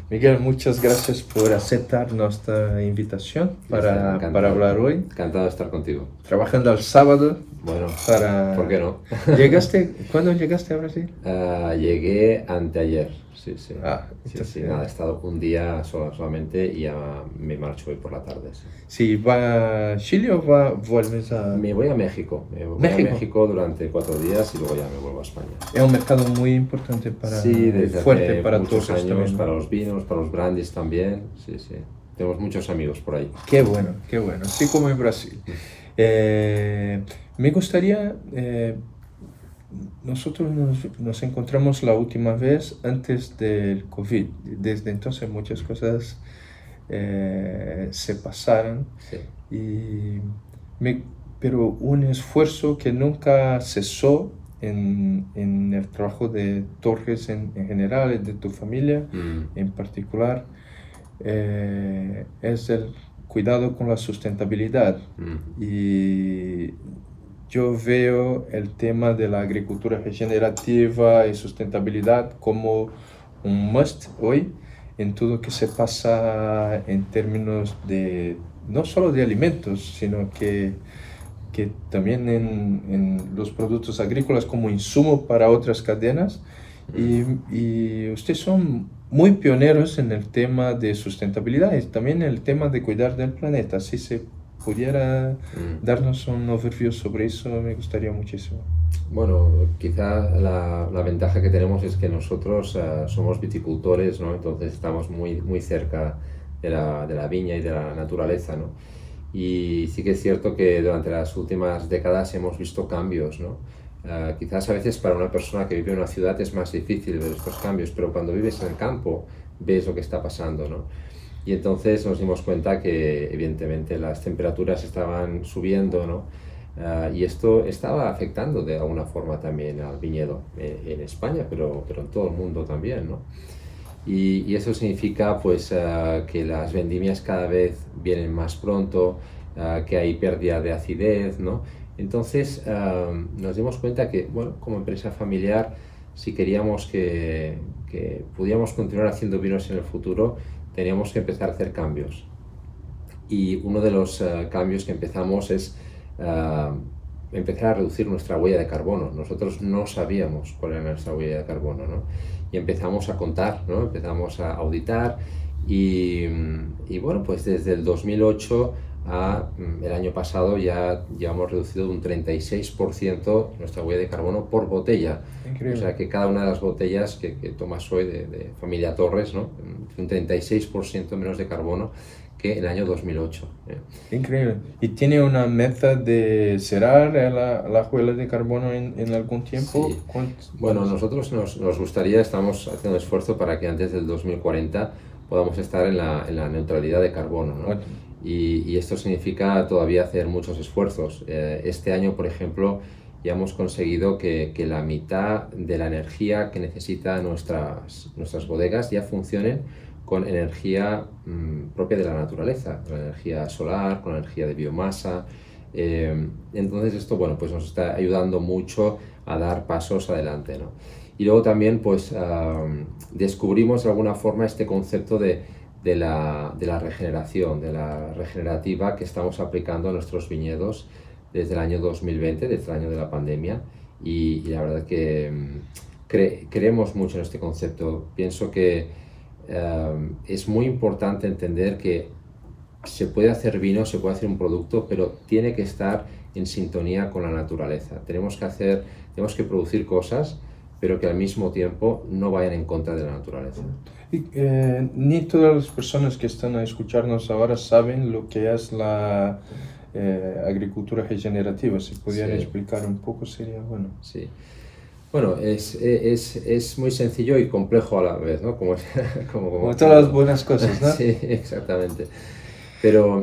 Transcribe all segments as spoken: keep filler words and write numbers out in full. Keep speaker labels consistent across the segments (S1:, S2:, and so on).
S1: Miguel, muchas gracias por aceptar nuestra invitación para, para hablar hoy.
S2: Encantado de estar contigo.
S1: Trabajando el sábado.
S2: Bueno,
S1: para...
S2: ¿por qué no?
S1: ¿Llegaste? ¿Cuándo llegaste a Brasil?
S2: Uh, llegué anteayer, sí, sí.
S1: Ah,
S2: sí, sí, nada, he estado un día sola, solamente y ya me marcho hoy por la tarde. Sí,
S1: sí, ¿va a Chile o va, vuelves a...?
S2: Me voy a México. Me voy
S1: ¿México?
S2: a México durante cuatro días y luego ya me vuelvo a España.
S1: Es un mercado muy importante para...
S2: Sí, desde
S1: fuerte
S2: hace
S1: para
S2: muchos
S1: todos
S2: años,
S1: también, ¿no?
S2: para los vinos, para los brandies también. Sí, sí. Tenemos muchos amigos por ahí.
S1: Qué bueno, qué bueno. Así como en Brasil. Eh, me gustaría... Eh, nosotros nos, nos encontramos la última vez antes del COVID. Desde entonces muchas cosas eh, se pasaron.
S2: Sí.
S1: Y me, pero un esfuerzo que nunca cesó en, en el trabajo de Torres en, en general, y de tu familia
S2: Mm.
S1: en particular, eh, es el cuidado con la sustentabilidad.
S2: Mm.
S1: Y yo veo el tema de la agricultura regenerativa y sustentabilidad como un must hoy en todo lo que se pasa en términos de no solo de alimentos, sino que, que también en, en los productos agrícolas como insumo para otras cadenas. Y, y ustedes son muy pioneros en el tema de sustentabilidad y también en el tema de cuidar del planeta. Si se pudiera
S2: Mm.
S1: darnos un overview sobre eso, me gustaría muchísimo.
S2: Bueno, quizá la, la ventaja que tenemos es que nosotros uh, somos viticultores, ¿no? Entonces estamos muy, muy cerca de la, de la viña y de la naturaleza, ¿no? Y sí que es cierto que durante las últimas décadas hemos visto cambios, ¿no? Uh, quizás a veces para una persona que vive en una ciudad es más difícil ver estos cambios, pero cuando vives en el campo ves lo que está pasando, ¿no? Y entonces nos dimos cuenta que evidentemente las temperaturas estaban subiendo, ¿no? Uh, y esto estaba afectando de alguna forma también al viñedo eh, en España, pero, pero en todo el mundo también, ¿no? Y, y eso significa pues uh, que las vendimias cada vez vienen más pronto, uh, que hay pérdida de acidez, ¿no? Entonces uh, nos dimos cuenta que, bueno, como empresa familiar, si queríamos que, que pudiéramos continuar haciendo vinos en el futuro, teníamos que empezar a hacer cambios. Y uno de los uh, cambios que empezamos es uh, empezar a reducir nuestra huella de carbono. Nosotros no sabíamos cuál era nuestra huella de carbono, ¿no? Y empezamos a contar, ¿no? Empezamos a auditar y, y bueno, pues desde el dos mil ocho a el año pasado ya, ya hemos reducido un treinta y seis por ciento nuestra huella de carbono por botella.
S1: Increíble.
S2: O sea que cada una de las botellas que, que tomas hoy de, de familia Torres, ¿no? Un treinta y seis por ciento menos de carbono que el año dos mil ocho. ¿eh?
S1: Increíble. ¿Y tiene una meta de cerrar la, la huella de carbono en, en algún tiempo?
S2: Sí. Bueno, nosotros nos, nos gustaría, estamos haciendo un esfuerzo para que antes del dos mil cuarenta podamos estar en la, en la neutralidad de carbono, ¿no?
S1: Bueno.
S2: Y, y esto significa todavía hacer muchos esfuerzos. Eh, este año, por ejemplo, ya hemos conseguido que, que la mitad de la energía que necesitan nuestras, nuestras bodegas ya funcionen con energía mmm, propia de la naturaleza, con energía solar, con energía de biomasa. Eh, entonces esto, bueno, pues nos está ayudando mucho a dar pasos adelante, ¿no? Y luego también, pues, uh, descubrimos de alguna forma este concepto de, de, la, de la regeneración, de la regenerativa que estamos aplicando a nuestros viñedos desde el año dos mil veinte, desde el año de la pandemia, y, y la verdad que um, cre creemos mucho en este concepto. Pienso que Uh, es muy importante entender que se puede hacer vino, se puede hacer un producto, pero tiene que estar en sintonía con la naturaleza. Tenemos que hacer, tenemos que producir cosas, pero que al mismo tiempo no vayan en contra de la naturaleza.
S1: Y, eh, ni todas las personas que están a escucharnos ahora saben lo que es la eh, agricultura regenerativa. Si pudieran
S2: Sí.
S1: explicar un poco sería bueno.
S2: Sí. Bueno, es, es, es muy sencillo y complejo a la vez, ¿no? Como, como, como,
S1: como todas las buenas cosas, ¿no?
S2: Sí, exactamente. Pero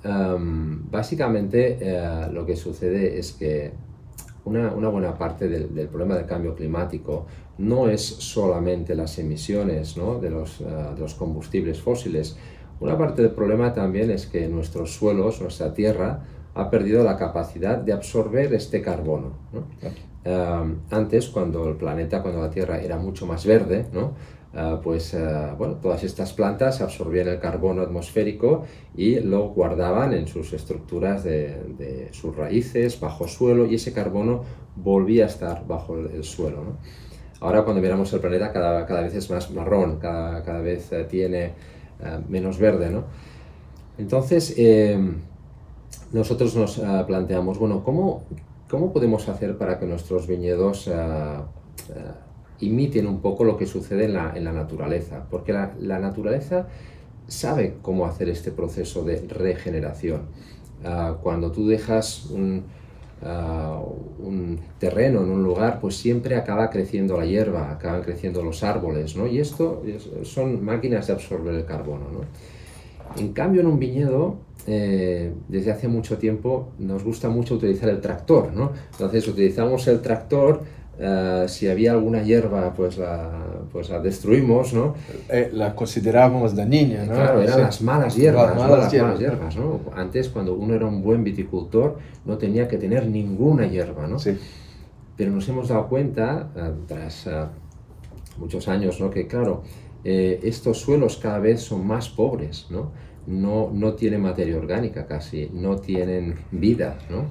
S2: um, básicamente uh, lo que sucede es que una, una buena parte del, del problema del cambio climático no es solamente las emisiones, ¿no? de, los, uh, de los combustibles fósiles. Una parte del problema también es que nuestros suelos, nuestra tierra, ha perdido la capacidad de absorber este carbono, ¿no? Uh, antes, cuando el planeta, cuando la Tierra era mucho más verde, ¿no? uh, pues uh, bueno, todas estas plantas absorbían el carbono atmosférico y lo guardaban en sus estructuras de, de sus raíces, bajo suelo, y ese carbono volvía a estar bajo el, el suelo, ¿no? Ahora cuando miramos el planeta cada, cada vez es más marrón, cada, cada vez uh, tiene uh, menos verde, ¿no? Entonces, eh, nosotros nos uh, planteamos, bueno, ¿cómo, ¿cómo podemos hacer para que nuestros viñedos uh, uh, imiten un poco lo que sucede en la, en la naturaleza? Porque la, la naturaleza sabe cómo hacer este proceso de regeneración. Uh, cuando tú dejas un, uh, un terreno en un lugar, pues siempre acaba creciendo la hierba, acaban creciendo los árboles, ¿no? Y esto es, son máquinas de absorber el carbono, ¿no? En cambio, en un viñedo, eh, desde hace mucho tiempo nos gusta mucho utilizar el tractor, ¿no? Entonces utilizamos el tractor, uh, si había alguna hierba, pues la, pues la destruimos, ¿no?
S1: Eh, la considerábamos dañina, ¿no?
S2: Claro, eran
S1: sí.
S2: las malas hierbas,
S1: las
S2: ¿no?
S1: malas,
S2: Las
S1: hierbas.
S2: malas hierbas, ¿no? Antes, cuando uno era un buen viticultor, no tenía que tener ninguna hierba, ¿no?
S1: Sí.
S2: Pero nos hemos dado cuenta, uh, tras uh, muchos años, ¿no? Que claro, eh, estos suelos cada vez son más pobres, ¿no? No, no tienen materia orgánica casi, no tienen vida, ¿no?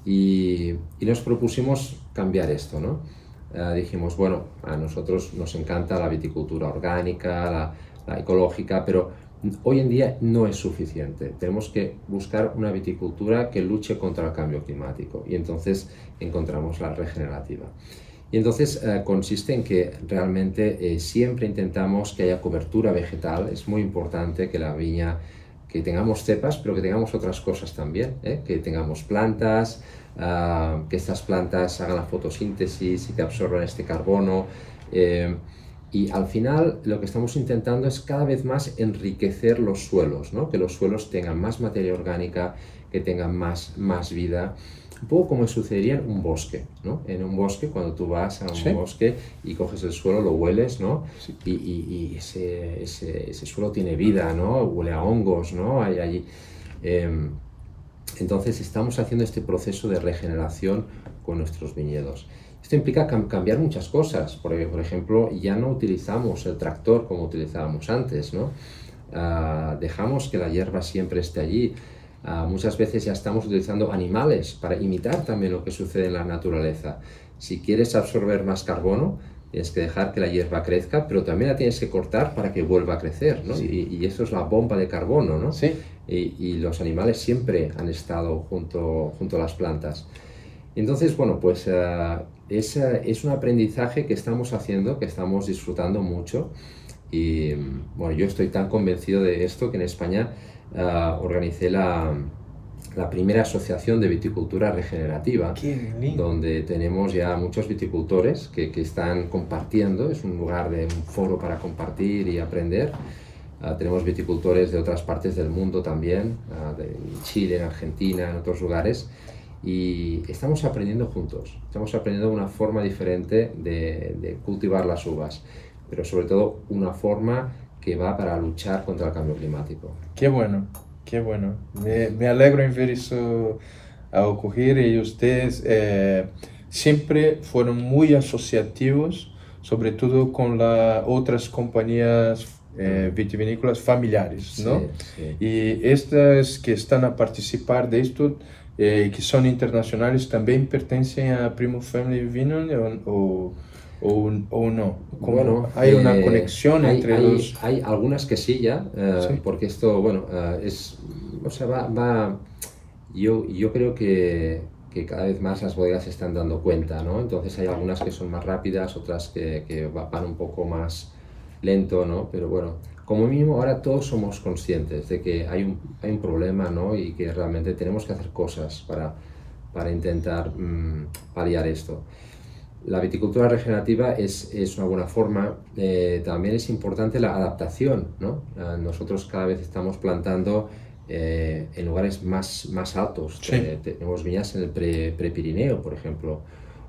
S2: Y, y nos propusimos cambiar esto, ¿no? Uh, dijimos, bueno, a nosotros nos encanta la viticultura orgánica, la, la ecológica, pero hoy en día no es suficiente. Tenemos que buscar una viticultura que luche contra el cambio climático, y entonces encontramos la regenerativa. Y entonces eh, consiste en que realmente eh, siempre intentamos que haya cobertura vegetal. Es muy importante que la viña, que tengamos cepas, pero que tengamos otras cosas también, ¿eh? Que tengamos plantas, uh, que estas plantas hagan la fotosíntesis y que absorban este carbono. Eh, y al final lo que estamos intentando es cada vez más enriquecer los suelos, ¿no? Que los suelos tengan más materia orgánica, que tengan más, más vida. Un poco como sucedería en un bosque, ¿no? En un bosque, cuando tú vas a un
S1: Sí.
S2: bosque y coges el suelo, lo hueles, ¿no?
S1: Sí.
S2: Y, y, y ese, ese, ese suelo tiene vida, ¿no? Huele a hongos, ¿no? Hay allí. Eh, entonces estamos haciendo este proceso de regeneración con nuestros viñedos. Esto implica cam cambiar muchas cosas, porque, por ejemplo, ya no utilizamos el tractor como utilizábamos antes, ¿no? Uh, dejamos que la hierba siempre esté allí. Uh, muchas veces ya estamos utilizando animales para imitar también lo que sucede en la naturaleza. Si quieres absorber más carbono, tienes que dejar que la hierba crezca, pero también la tienes que cortar para que vuelva a crecer, ¿no?
S1: Sí.
S2: Y, y eso es la bomba de carbono, ¿no?
S1: Sí.
S2: Y, y los animales siempre han estado junto, junto a las plantas. Entonces, bueno, pues uh, es, uh, es un aprendizaje que estamos haciendo, que estamos disfrutando mucho. Y bueno, yo estoy tan convencido de esto que en España uh, organicé la, la primera asociación de viticultura regenerativa, donde tenemos ya muchos viticultores que, que están compartiendo. Es un lugar de un foro para compartir y aprender. Uh, tenemos viticultores de otras partes del mundo también, uh, de Chile, en Argentina, en otros lugares, y estamos aprendiendo juntos. Estamos aprendiendo una forma diferente de, de cultivar las uvas, pero sobre todo una forma que va para luchar contra el cambio climático.
S1: Qué bueno, qué bueno. Me, me alegro en ver eso a ocurrir, y ustedes eh, siempre fueron muy asociativos, sobre todo con las otras compañías eh, vitivinícolas familiares, ¿no?
S2: Sí, sí.
S1: Y estas que están a participar de esto, eh, que son internacionales, también pertenecen a Primo Family Vineyard o, o O, o no. ¿Cómo?
S2: Bueno,
S1: hay una
S2: eh,
S1: conexión
S2: hay,
S1: entre
S2: hay,
S1: los...
S2: Hay algunas que sí ya, uh,
S1: Sí.
S2: porque esto, bueno, uh, es, o sea, va, va yo, yo creo que, que cada vez más las bodegas se están dando cuenta, ¿no? Entonces hay algunas que son más rápidas, otras que, que van un poco más lento, ¿no? Pero bueno, como mínimo ahora todos somos conscientes de que hay un, hay un problema, ¿no? Y que realmente tenemos que hacer cosas para, para intentar mmm, paliar esto. La viticultura regenerativa es, es una buena forma. Eh, también es importante la adaptación, ¿no? Eh, nosotros cada vez estamos plantando eh, en lugares más, más altos.
S1: Sí.
S2: Eh, tenemos viñas en el pre, Prepirineo, por ejemplo.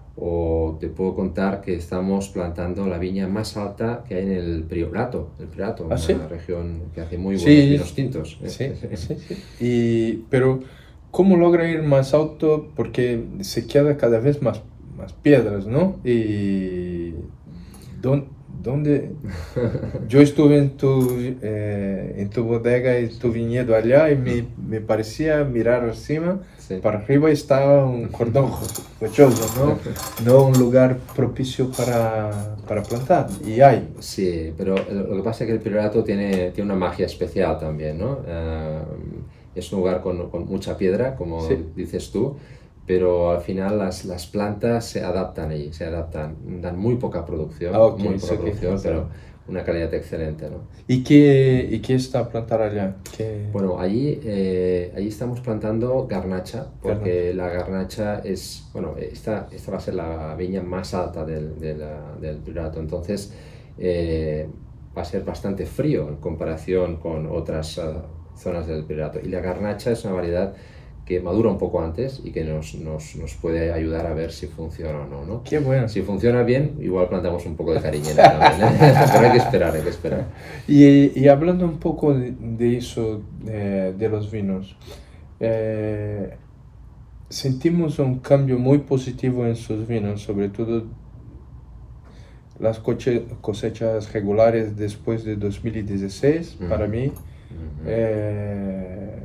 S2: O te puedo contar que estamos plantando la viña más alta que hay en el Priorato, el Priorato,
S1: ¿Ah,
S2: una
S1: sí?
S2: región que hace muy buenos
S1: Sí.
S2: vinos tintos. ¿eh?
S1: Sí, sí, sí. Y, pero, ¿cómo logra ir más alto? Porque se queda cada vez más, más piedras, ¿no? Y ¿dónde, ¿dónde? Yo estuve en tu, eh, en tu bodega, en tu viñedo allá y me, me parecía mirar encima,
S2: Sí.
S1: para arriba estaba un cordón rochoso, ¿no? No un lugar propicio para, para plantar, y hay.
S2: Sí, pero lo que pasa es que el Priorato tiene, tiene una magia especial también, ¿no? Eh, es un lugar con, con mucha piedra, como
S1: Sí.
S2: dices tú, pero al final las, las plantas se adaptan allí, se adaptan, dan muy poca producción,
S1: Ah, ok,
S2: muy
S1: eso
S2: poca
S1: que
S2: producción,
S1: pasa.
S2: pero una calidad excelente, ¿no?
S1: ¿Y qué, y qué está a plantar allá? ¿Qué?
S2: Bueno, allí, eh, allí estamos plantando garnacha, porque la garnacha es, bueno, esta, esta va a ser la viña más alta del, de la- del Priorato, entonces eh, va a ser bastante frío en comparación con otras eh, zonas del Priorato. Y la garnacha es una variedad que madura un poco antes y que nos, nos, nos puede ayudar a ver si funciona o no, ¿no?
S1: Qué bueno.
S2: Si funciona bien, igual plantamos un poco de cariñena también, ¿eh? Pero hay que esperar, hay que esperar.
S1: Y, y hablando un poco de, de eso, de, de los vinos, eh, sentimos un cambio muy positivo en sus vinos, sobre todo las coche- cosechas regulares después de dos mil dieciséis,
S2: Mm.
S1: para mí.
S2: Ujú.
S1: eh,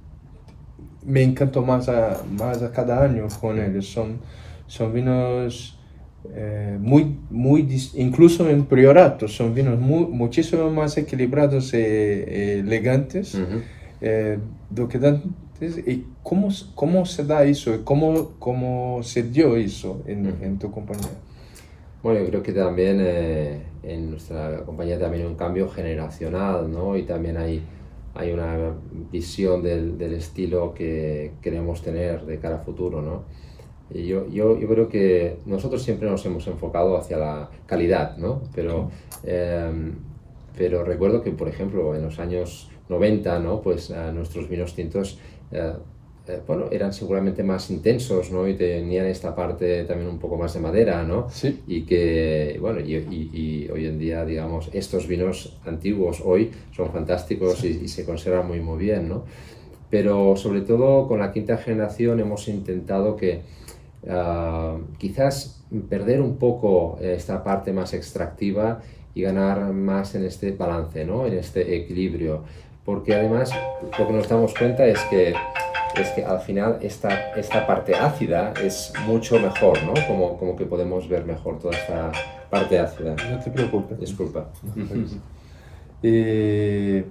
S1: me encantó más a, más a cada año con ellos. Son, son vinos eh, muy, muy, dis- incluso en Priorato, son vinos muy, muchísimo más equilibrados e elegantes
S2: Ujú.
S1: eh, do que antes. ¿Y cómo, cómo se da eso? ¿Cómo, cómo se dio eso en,
S2: Ujú.
S1: en tu compañía?
S2: Bueno, yo creo que también eh, en nuestra compañía también hay un cambio generacional, ¿no? Y también hay, hay una visión del, del estilo que queremos tener de cara a futuro, ¿no? Y yo, yo, yo creo que nosotros siempre nos hemos enfocado hacia la calidad, ¿no? Pero, eh, pero recuerdo que, por ejemplo, en los años noventa, ¿no? Pues eh, nuestros vinos tintos eh, eh, bueno, eran seguramente más intensos, ¿no? Y tenían esta parte también un poco más de madera, ¿no?
S1: Sí.
S2: Y que, bueno, y, y, y hoy en día, digamos, estos vinos antiguos hoy son fantásticos
S1: Sí.
S2: y, y se conservan muy, muy bien, ¿no? Pero sobre todo con la quinta generación hemos intentado que uh, quizás perder un poco esta parte más extractiva y ganar más en este balance, ¿no? En este equilibrio. Porque además lo que nos damos cuenta es que es que al final esta, esta parte ácida es mucho mejor, ¿no? Como, como que podemos ver mejor toda esta parte ácida.
S1: No te preocupes.
S2: Disculpa.
S1: Eh,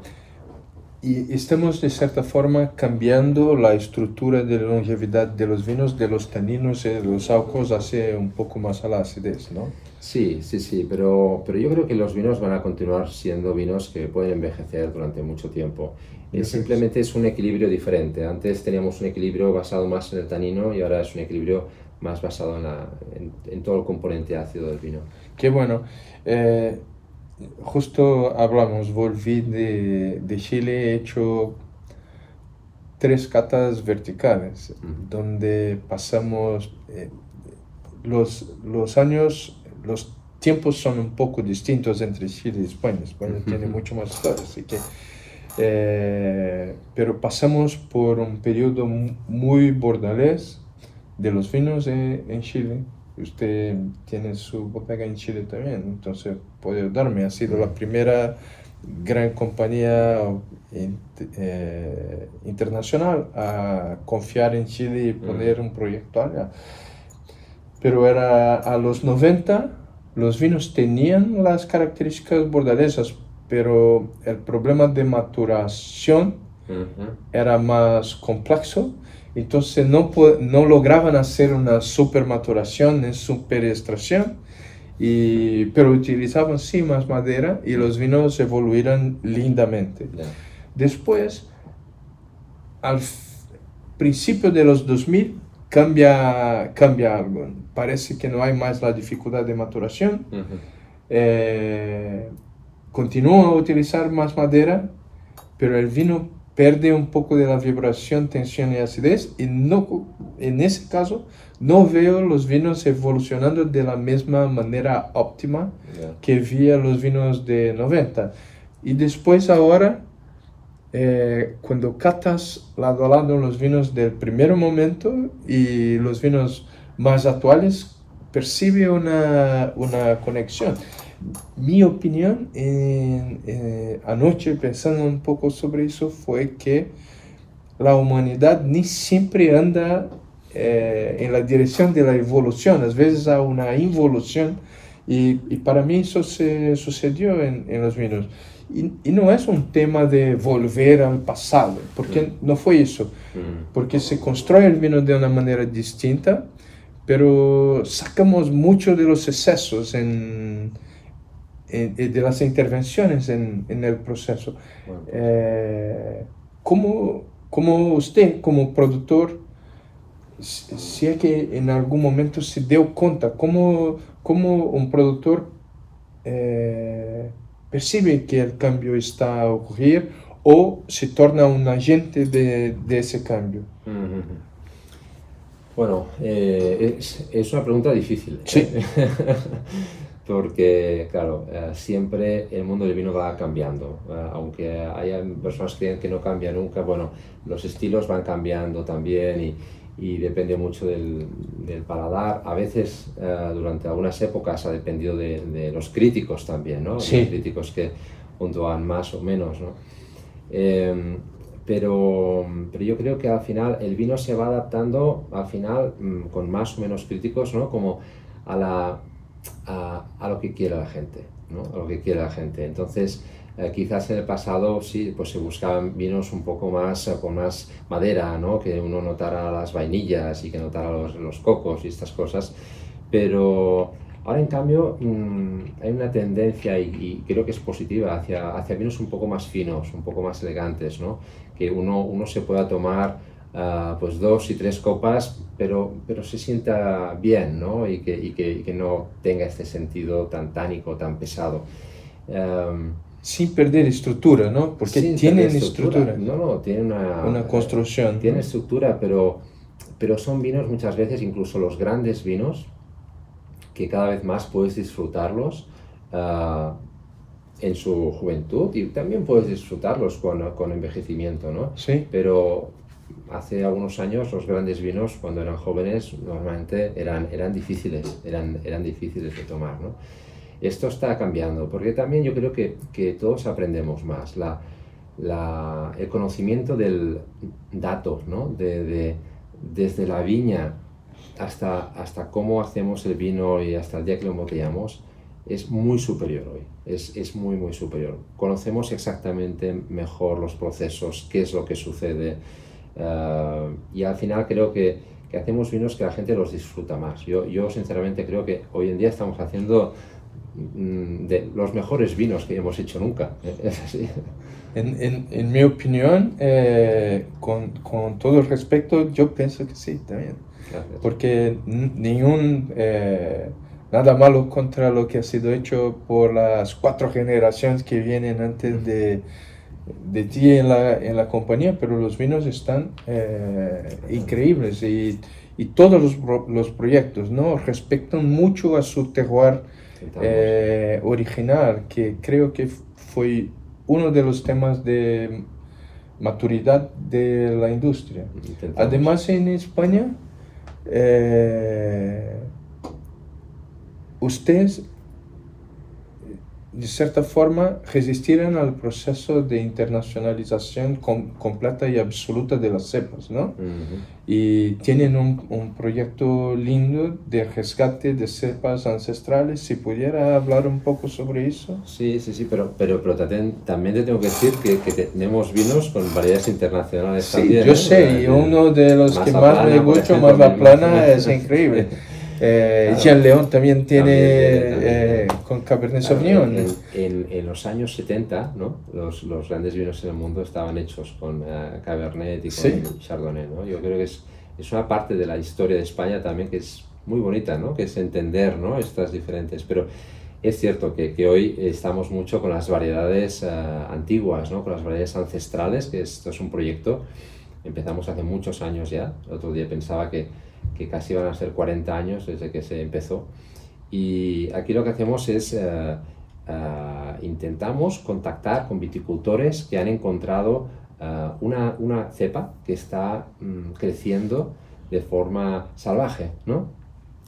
S1: y estamos de cierta forma cambiando la estructura de longevidad de los vinos, de los taninos y de los alcoholes hacia un poco más a la acidez, ¿no?
S2: Sí, sí, sí, pero, pero yo creo que los vinos van a continuar siendo vinos que pueden envejecer durante mucho tiempo. Eh, simplemente es un equilibrio diferente. Antes teníamos un equilibrio basado más en el tanino y ahora es un equilibrio más basado en, la, en, en todo el componente ácido del vino.
S1: Qué bueno. Eh, justo hablamos, volví de, de Chile, he hecho tres catas verticales,
S2: Ujú.
S1: donde pasamos eh, los, los años, los tiempos son un poco distintos entre Chile y España. España
S2: Ujú.
S1: tiene mucho más historia, así que... Eh, pero pasamos por un periodo mu- muy bordalés de los vinos en, en Chile. Usted tiene su bodega en Chile también, entonces puede ayudarme. Ha sido la primera gran compañía in- eh, internacional a confiar en Chile y poner un proyecto allá. Pero era a los noventa, los vinos tenían las características bordalesas, pero el problema de maturación
S2: Ujú.
S1: era más complejo, entonces no, po- no lograban hacer una super maturación ni super extracción, y, pero utilizaban sí más madera y los vinos evoluían lindamente.
S2: Ya.
S1: Después, al f- principio de los dos mil, cambia, cambia algo. Parece que no hay más la dificultad de maturación.
S2: Ujú.
S1: Eh, continúa a utilizar más madera, pero el vino pierde un poco de la vibración, tensión y acidez, y no, en ese caso no veo los vinos evolucionando de la misma manera óptima
S2: Ya.
S1: que vi a los vinos de noventa. Y después ahora, eh, cuando catas lado a lado los vinos del primer momento y los vinos más actuales, percibe una, una conexión. mi opinión en, eh, anoche pensando un poco sobre eso fue que la humanidad ni siempre anda eh, en la dirección de la evolución, a veces hay una involución y, y para mí eso se sucedió en, en los vinos. Y, y no es un tema de volver al pasado, porque
S2: Mm.
S1: no fue eso,
S2: Mm.
S1: porque se construye el vino de una manera distinta, pero sacamos mucho de los excesos en, en, de las intervenciones en, en el proceso.
S2: Bueno, pues,
S1: Eh, ¿cómo, cómo usted, como productor, si si es que en algún momento se dio cuenta, cómo, cómo un productor eh, percibe que el cambio está a ocurrir o se torna un agente de, de ese cambio?
S2: mm, mm. Bueno, eh, es, es una pregunta difícil.
S1: Sí.
S2: Porque, claro, eh, siempre el mundo del vino va cambiando. Eh, aunque haya personas que creen que no cambia nunca, bueno, los estilos van cambiando también y, y depende mucho del, del paladar. A veces, eh, durante algunas épocas, ha dependido de, de los críticos también, ¿no?
S1: Sí.
S2: Los críticos que puntúan más o menos, ¿no? Eh, pero, pero yo creo que al final el vino se va adaptando, al final, mmm, con más o menos críticos, ¿no? Como a la... A, a lo que quiere la gente, ¿no? A lo que quiere la gente. Entonces, eh, quizás en el pasado sí, pues se buscaban vinos un poco más, eh, con más madera, ¿no? Que uno notara las vainillas y que notara los, los cocos y estas cosas, pero ahora en cambio mmm, hay una tendencia y, y creo que es positiva hacia, hacia vinos un poco más finos, un poco más elegantes, ¿no? Que uno, uno se pueda tomar Uh, pues dos y tres copas, pero, pero se sienta bien, ¿no? Y que, y, que, y que no tenga este sentido tan tánico, tan pesado. Um,
S1: Sin perder estructura, ¿no? Porque tienen estructura.
S2: estructura. No, no, tienen una,
S1: una construcción.
S2: Eh, tienen
S1: ¿no?
S2: estructura, pero, pero son vinos muchas veces, incluso los grandes vinos, que cada vez más puedes disfrutarlos uh, en su juventud y también puedes disfrutarlos con, con envejecimiento, ¿no?
S1: Sí.
S2: Pero hace algunos años los grandes vinos, cuando eran jóvenes, normalmente eran, eran difíciles, eran, eran difíciles de tomar, ¿no? Esto está cambiando, porque también yo creo que, que todos aprendemos más. La, la, el conocimiento del dato, ¿no? De, de, desde la viña hasta, hasta cómo hacemos el vino y hasta el día que lo embotellamos, es muy superior hoy, es, es muy, muy superior. Conocemos exactamente mejor los procesos, qué es lo que sucede. Uh, y al final creo que, que hacemos vinos que la gente los disfruta más. Yo, yo sinceramente creo que hoy en día estamos haciendo mm, de los mejores vinos que hemos hecho nunca. Es así.
S1: En, en, en mi opinión, eh, con, con todo el respeto, yo pienso que sí, también.
S2: Gracias.
S1: Porque ningún... Eh, nada malo contra lo que ha sido hecho por las cuatro generaciones que vienen antes de... de ti en la, en la compañía, pero los vinos están eh, increíbles y, y todos los, los proyectos, ¿no? Respetan mucho a su terroir eh, original, que creo que fue uno de los temas de maturidad de la industria. Intentamos. Además, en España, eh, ustedes de cierta forma, resistieron al proceso de internacionalización com completa y absoluta de las cepas, ¿no?
S2: Uh-huh.
S1: Y tienen un, un proyecto lindo de rescate de cepas ancestrales. Si pudiera hablar un poco sobre eso.
S2: Sí, sí, sí, pero, pero, pero también te tengo que decir que, que tenemos vinos con variedades internacionales
S1: sí,
S2: también.
S1: Yo
S2: ¿eh?
S1: sé, y uno de los
S2: más
S1: que más
S2: plana,
S1: me gusta, más la plana, es increíble. Eh, claro. Jean León también tiene, también, también, eh, con Cabernet claro, Sauvignon.
S2: En, en, en los años setenta, ¿no? los, los grandes vinos en el mundo estaban hechos con uh, Cabernet y con ¿sí? Chardonnay, ¿no? Yo creo que es, es una parte de la historia de España también que es muy bonita, ¿no? Que es entender, ¿no? Estas diferentes. Pero es cierto que, que hoy estamos mucho con las variedades uh, antiguas, ¿no? Con las variedades ancestrales, que esto es un proyecto, empezamos hace muchos años ya. El otro día pensaba que que casi van a ser cuarenta años desde que se empezó. Y aquí lo que hacemos es, uh, uh, intentamos contactar con viticultores que han encontrado uh, una, una cepa que está um, creciendo de forma salvaje, ¿no?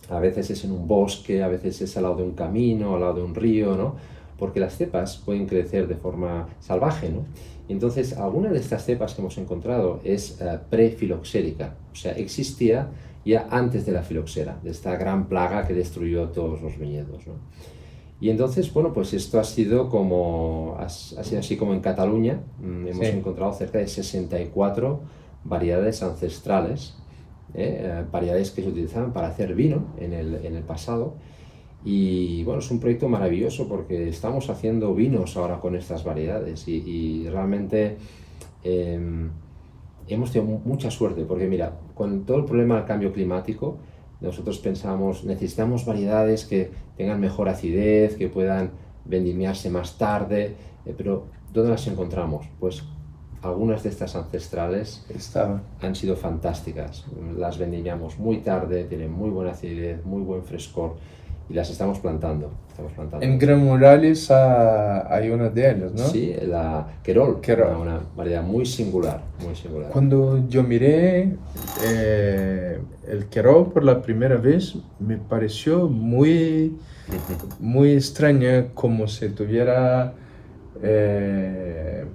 S2: a veces es en un bosque, a veces es al lado de un camino, al lado de un río, ¿no? Porque las cepas pueden crecer de forma salvaje, ¿no? Entonces, alguna de estas cepas que hemos encontrado es uh, prefiloxérica, o sea, existía ya antes de la filoxera, de esta gran plaga que destruyó todos los viñedos, ¿no? Y entonces, bueno, pues esto ha sido como, ha, ha sido así como en Cataluña, mmm, hemos sí. encontrado cerca de sesenta y cuatro variedades ancestrales, ¿eh? Eh, variedades que se utilizaban para hacer vino en el, en el pasado. Y bueno, es un proyecto maravilloso porque estamos haciendo vinos ahora con estas variedades y, y realmente eh, hemos tenido mucha suerte porque mira, con todo el problema del cambio climático, nosotros pensamos, necesitamos variedades que tengan mejor acidez, que puedan vendimiarse más tarde, eh, pero ¿dónde las encontramos? Pues algunas de estas ancestrales
S1: Estaba.
S2: han sido fantásticas, las vendimiamos muy tarde, tienen muy buena acidez, muy buen frescor. Y las estamos plantando, estamos plantando.
S1: En Gran Murales uh, hay una de ellas, ¿no?
S2: Sí, la Querol,
S1: Querol.
S2: Una, una variedad muy singular, muy singular.
S1: Cuando yo miré eh, el Querol por la primera vez, me pareció muy, muy extraña, como si tuviera eh,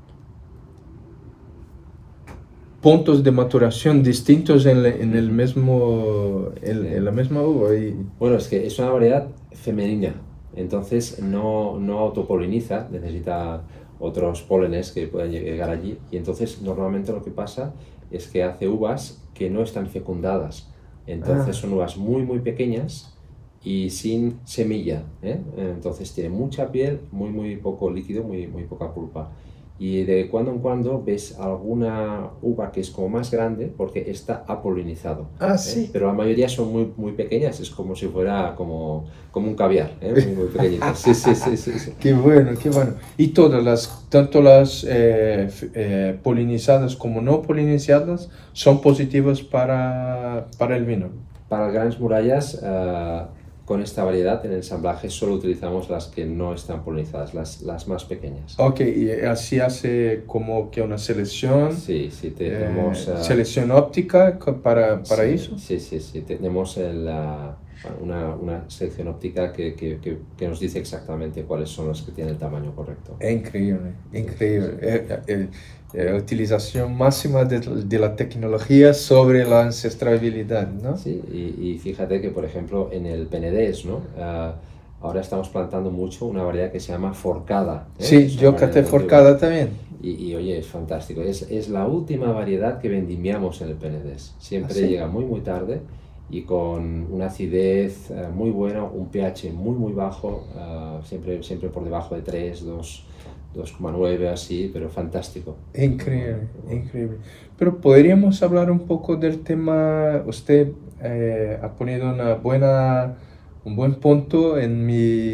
S1: puntos de maturación distintos en, en, el mismo, en, sí. en la misma uva. Y...
S2: Bueno, es que es una variedad femenina, entonces no, no autopoliniza, necesita otros pólenes que puedan llegar allí, y entonces normalmente lo que pasa es que hace uvas que no están fecundadas, entonces ah. son uvas muy muy pequeñas y sin semilla, ¿eh? Entonces tiene mucha piel, muy muy poco líquido, muy, muy poca pulpa. Y de cuando en cuando ves alguna uva que es como más grande porque está apolinizado.
S1: Ah,
S2: ¿eh?
S1: sí.
S2: Pero la mayoría son muy, muy pequeñas, es como si fuera como, como un caviar, ¿eh? Muy, muy pequeñitas. Sí, sí, sí, sí, sí.
S1: Qué bueno, qué bueno. Y todas las, tanto las eh, eh, polinizadas como no polinizadas, son positivas para, para el vino.
S2: Para Grandes Murallas, uh, con esta variedad en el ensamblaje solo utilizamos las que no están polinizadas, las, las más pequeñas.
S1: Ok, y así hace como que una selección.
S2: Sí, sí, tenemos...
S1: Eh, uh, selección óptica para, para
S2: sí,
S1: eso.
S2: Sí, sí, sí, tenemos el, uh, una, una selección óptica que, que, que, que nos dice exactamente cuáles son las que tienen el tamaño correcto.
S1: Es increíble, increíble. Sí, sí, sí. Eh, eh, eh, utilización máxima de, de la tecnología sobre la ancestralidad, ¿no?
S2: Sí, y, y fíjate que, por ejemplo, en el Penedès, ¿no? Uh, ahora estamos plantando mucho una variedad que se llama Forcada. ¿eh?
S1: Sí, yo caté Forcada también.
S2: Y, y oye, es fantástico. Es, es la última variedad que vendimiamos en el Penedès. Siempre
S1: ¿Ah, sí?
S2: llega muy, muy tarde y con una acidez uh, muy buena, un pH muy, muy bajo, uh, siempre, siempre por debajo de tres, dos... dos coma nueve así, pero fantástico.
S1: Increíble, increíble. Pero podríamos hablar un poco del tema, usted eh, ha ponido una buena, un buen punto en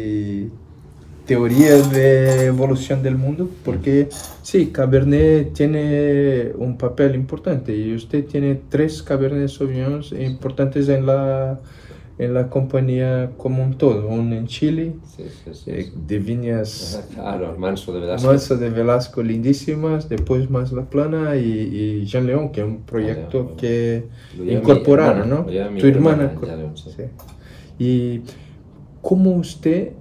S1: mi teoría de evolución del mundo, porque sí, Cabernet tiene un papel importante y usted tiene tres Cabernet Sauvignon importantes en la... en la compañía como un todo, uno en Chile,
S2: sí, sí, sí,
S1: eh,
S2: sí.
S1: de viñas
S2: claro, Manso de Velasco.
S1: Manso de Velasco lindísimas, después más La Plana y, y Jean León, que es un proyecto ah, bueno. que incorporaron, ¿no? Tu hermana. hermana León, sí. Sí. Y cómo usted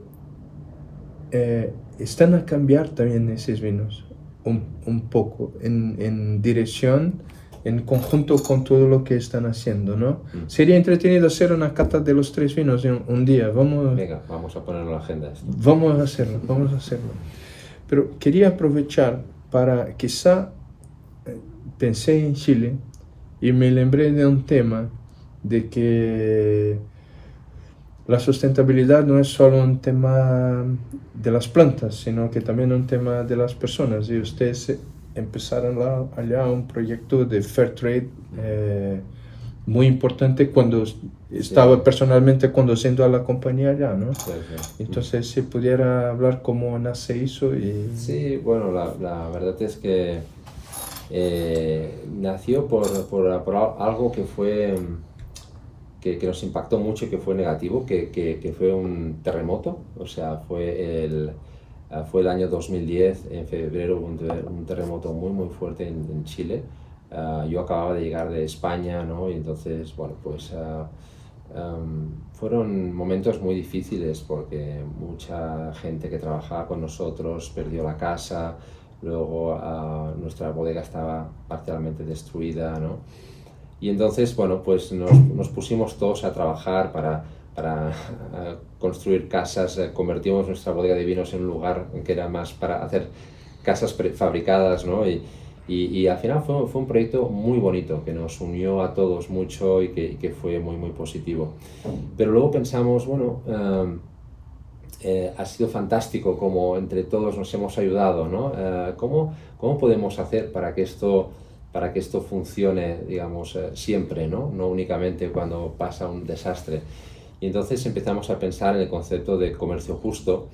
S1: eh, están a cambiar también esos vinos un, un poco en, en dirección en conjunto con todo lo que están haciendo, ¿no? Mm. Sería entretenido hacer una cata de los tres vinos en un día. Vamos,
S2: Venga, vamos a ponerlo en la agenda. Esto.
S1: Vamos a hacerlo, vamos a hacerlo. Pero quería aprovechar para, quizá, eh, pensé en Chile y me lembré de un tema de que la sustentabilidad no es solo un tema de las plantas, sino que también un tema de las personas. Y ustedes empezaron la, allá un proyecto de Fair Trade eh, muy importante cuando estaba sí. personalmente conduciendo a la compañía allá, ¿no? Sí, sí. Entonces, si pudiera hablar cómo nace eso y...
S2: Sí, bueno, la, la verdad es que eh, nació por, por, por algo que fue... Que, que nos impactó mucho y que fue negativo, que, que, que fue un terremoto, o sea, fue el... Fue el año dos mil diez, en febrero, un, un terremoto muy muy fuerte en, en Chile. Uh, yo acababa de llegar de España, ¿no? Y entonces, bueno, pues uh, Um, fueron momentos muy difíciles porque mucha gente que trabajaba con nosotros perdió la casa, luego uh, nuestra bodega estaba parcialmente destruida, ¿no? Y entonces, bueno, pues nos, nos pusimos todos a trabajar para, para uh, construir casas, uh, convertimos nuestra bodega de vinos en un lugar que era más para hacer casas prefabricadas, ¿no? Y, y, y al final fue, fue un proyecto muy bonito, que nos unió a todos mucho y que, y que fue muy, muy positivo. Pero luego pensamos, bueno, uh, eh, ha sido fantástico como entre todos nos hemos ayudado, ¿no? Uh, ¿cómo, ¿Cómo podemos hacer para que esto... para que esto funcione, digamos, eh, siempre, ¿no? No únicamente cuando pasa un desastre. Y entonces empezamos a pensar en el concepto de comercio justo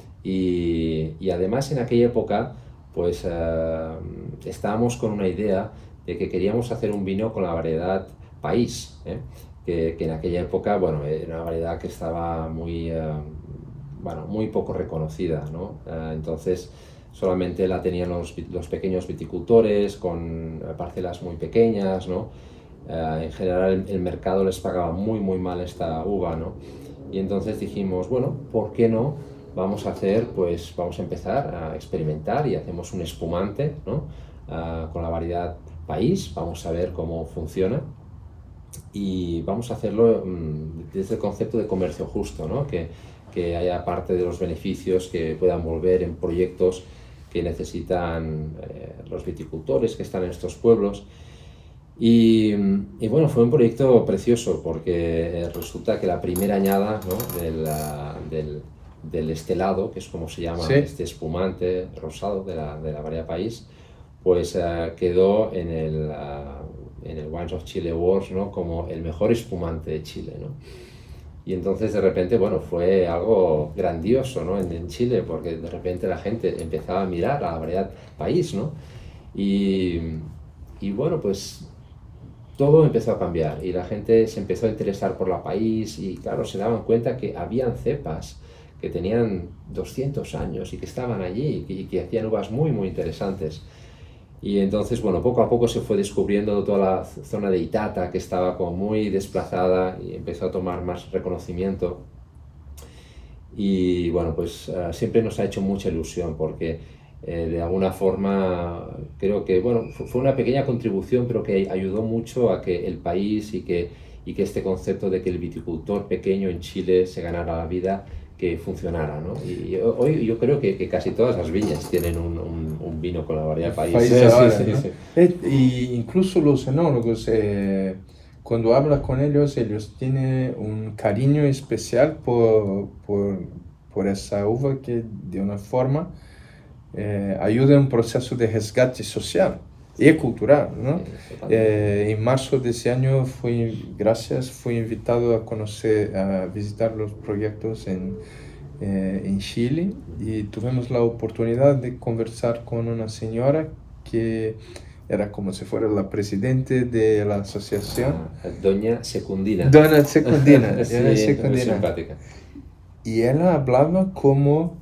S2: y, y además en aquella época pues eh, estábamos con una idea de que queríamos hacer un vino con la variedad país, ¿eh? que, que en aquella época, bueno, era una variedad que estaba muy, eh, bueno, muy poco reconocida, ¿no? Eh, entonces solamente la tenían los, los pequeños viticultores con parcelas muy pequeñas, ¿no? Uh, en general el, el mercado les pagaba muy muy mal esta uva, ¿no? Y entonces dijimos, bueno, ¿por qué no? Vamos a hacer, pues vamos a empezar a experimentar y hacemos un espumante, ¿no? Uh, con la variedad país, vamos a ver cómo funciona y vamos a hacerlo um, desde el concepto de comercio justo, ¿no? Que, que haya parte de los beneficios que puedan volver en proyectos que necesitan eh, los viticultores que están en estos pueblos. Y, y bueno, fue un proyecto precioso porque eh, resulta que la primera añada, ¿no? de la, del, del estelado, que es como se llama, sí, este espumante rosado de la, de la variedad país, pues uh, quedó en el, uh, en el Wines of Chile Awards, ¿no? Como el mejor espumante de Chile, ¿no? Y entonces de repente, bueno, fue algo grandioso, ¿no? en, en Chile, porque de repente la gente empezaba a mirar a la variedad país, ¿no? Y, y bueno, pues todo empezó a cambiar y la gente se empezó a interesar por la país y claro, se daban cuenta que habían cepas que tenían doscientos años y que estaban allí y que, y que hacían uvas muy, muy interesantes. Y entonces, bueno, poco a poco se fue descubriendo toda la zona de Itata, que estaba como muy desplazada y empezó a tomar más reconocimiento. Y bueno, pues uh, siempre nos ha hecho mucha ilusión porque eh, de alguna forma creo que, bueno, fue una pequeña contribución, pero que ayudó mucho a que el país y que, y que este concepto de que el viticultor pequeño en Chile se ganara la vida, que funcionara, ¿no? Y hoy yo creo que, que casi todas las viñas tienen un, un, un vino con la variedad país.
S1: país
S2: sí,
S1: ahora,
S2: sí,
S1: ¿no?
S2: sí, sí.
S1: Eh, y incluso los enólogos, eh, cuando hablas con ellos, ellos tienen un cariño especial por, por, por esa uva que de una forma eh, ayuda en un proceso de resgate social y cultural, ¿no? Sí, eh, en marzo de ese año fui, gracias, fui invitado a conocer, a visitar los proyectos en, eh, en Chile y tuvimos la oportunidad de conversar con una señora que era como si fuera la presidente de la asociación.
S2: Ah, Doña Secundina.
S1: Doña Secundina.
S2: Sí,
S1: Doña Secundina.
S2: muy simpática.
S1: Y ella hablaba como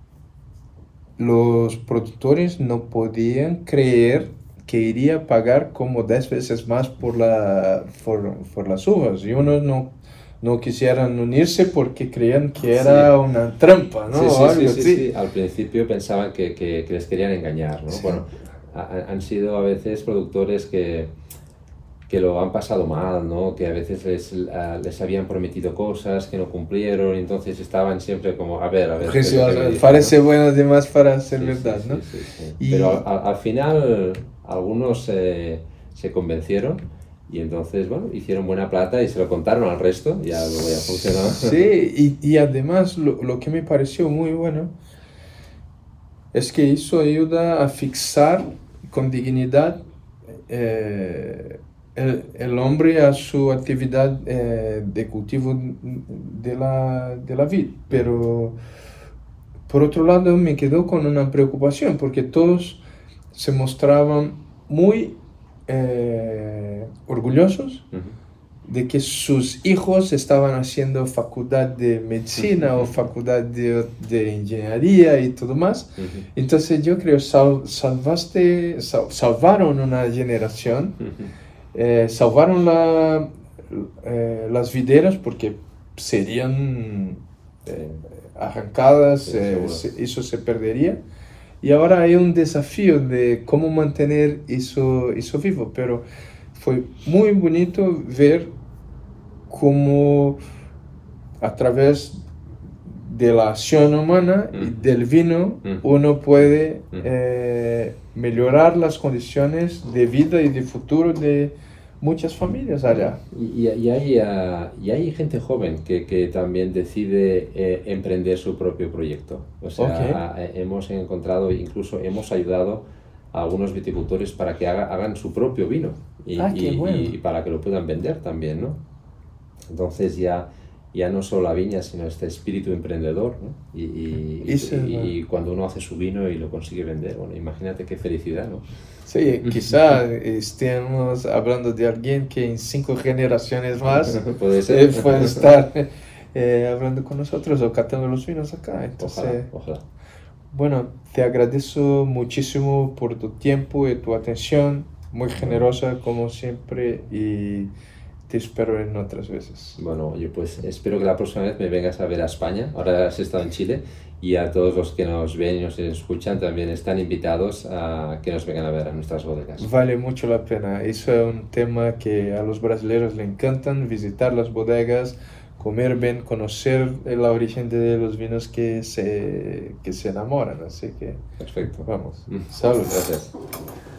S1: los productores no podían creer que iría a pagar como diez veces más por, la, por, por las uvas. Y unos no, no quisieran unirse porque creían que era sí. una trampa, ¿no?
S2: Sí, sí,
S1: o algo
S2: sí,
S1: así.
S2: sí, sí. Al principio pensaban que, que, que les querían engañar, ¿no? Sí. Bueno, ha, han sido a veces productores que, que lo han pasado mal, ¿no? Que a veces les, uh, les habían prometido cosas que no cumplieron, y entonces estaban siempre como, a ver, a ver.
S1: Pues, parece, ¿no? Bueno además para ser sí, verdad,
S2: sí,
S1: ¿no?
S2: Sí, sí, sí.
S1: Y...
S2: Pero al, al final algunos eh, se convencieron y entonces, bueno, hicieron buena plata y se lo contaron al resto y ya luego ya funcionó.
S1: Sí, y, y además lo, lo que me pareció muy bueno es que eso ayuda a fixar con dignidad eh, el, el hombre a su actividad eh, de cultivo de la, de la vid. Pero por otro lado me quedó con una preocupación porque todos se mostraban muy eh, orgullosos uh-huh. de que sus hijos estaban haciendo facultad de medicina uh-huh. o facultad de, de ingeniería y todo más. Uh-huh. Entonces yo creo sal, salvaste, sal, salvaron una generación, uh-huh. eh, salvaron la, eh, las videras, porque serían eh, arrancadas,
S2: Sí,
S1: eh,
S2: seguro.
S1: se- eso se perdería. Y ahora hay un desafío de cómo mantener eso, eso vivo, pero fue muy bonito ver cómo a través de la acción humana y
S2: Mm.
S1: del vino
S2: Mm.
S1: uno puede
S2: Mm.
S1: eh, mejorar las condiciones de vida y de futuro de muchas familias allá.
S2: Y, y- y hay, ah, y hay gente joven que, que también decide eh, emprender su propio proyecto. O sea,
S1: Ok.
S2: ah, eh, hemos encontrado, incluso hemos ayudado a algunos viticultores para que haga- hagan su propio vino y,
S1: Ah, qué
S2: y-
S1: bueno.
S2: y para que lo puedan vender también, ¿no? Entonces ya, ya no solo la viña, sino este espíritu emprendedor, ¿no? Y, y- y-
S1: Eso es
S2: y-
S1: bueno.
S2: y cuando uno hace su vino y lo consigue vender, bueno, imagínate qué felicidad, ¿no?
S1: Sí, quizá estemos hablando de alguien que en cinco generaciones más
S2: Puede ser.
S1: eh, puede estar eh, hablando con nosotros o catando los vinos acá. Entonces,
S2: Ojalá, ojalá.
S1: bueno, te agradezco muchísimo por tu tiempo y tu atención, muy generosa como siempre, y te espero en otras veces.
S2: Bueno, oye, pues espero que la próxima vez me vengas a ver a España. Ahora has estado en Chile y a todos los que nos ven y nos escuchan también están invitados a que nos vengan a ver a nuestras bodegas.
S1: Vale mucho la pena. Eso es un tema que a los brasileños le encantan, visitar las bodegas, comer bien, conocer la origen de los vinos que se, que se enamoran. Así que
S2: Perfecto.
S1: vamos, salud.
S2: Gracias.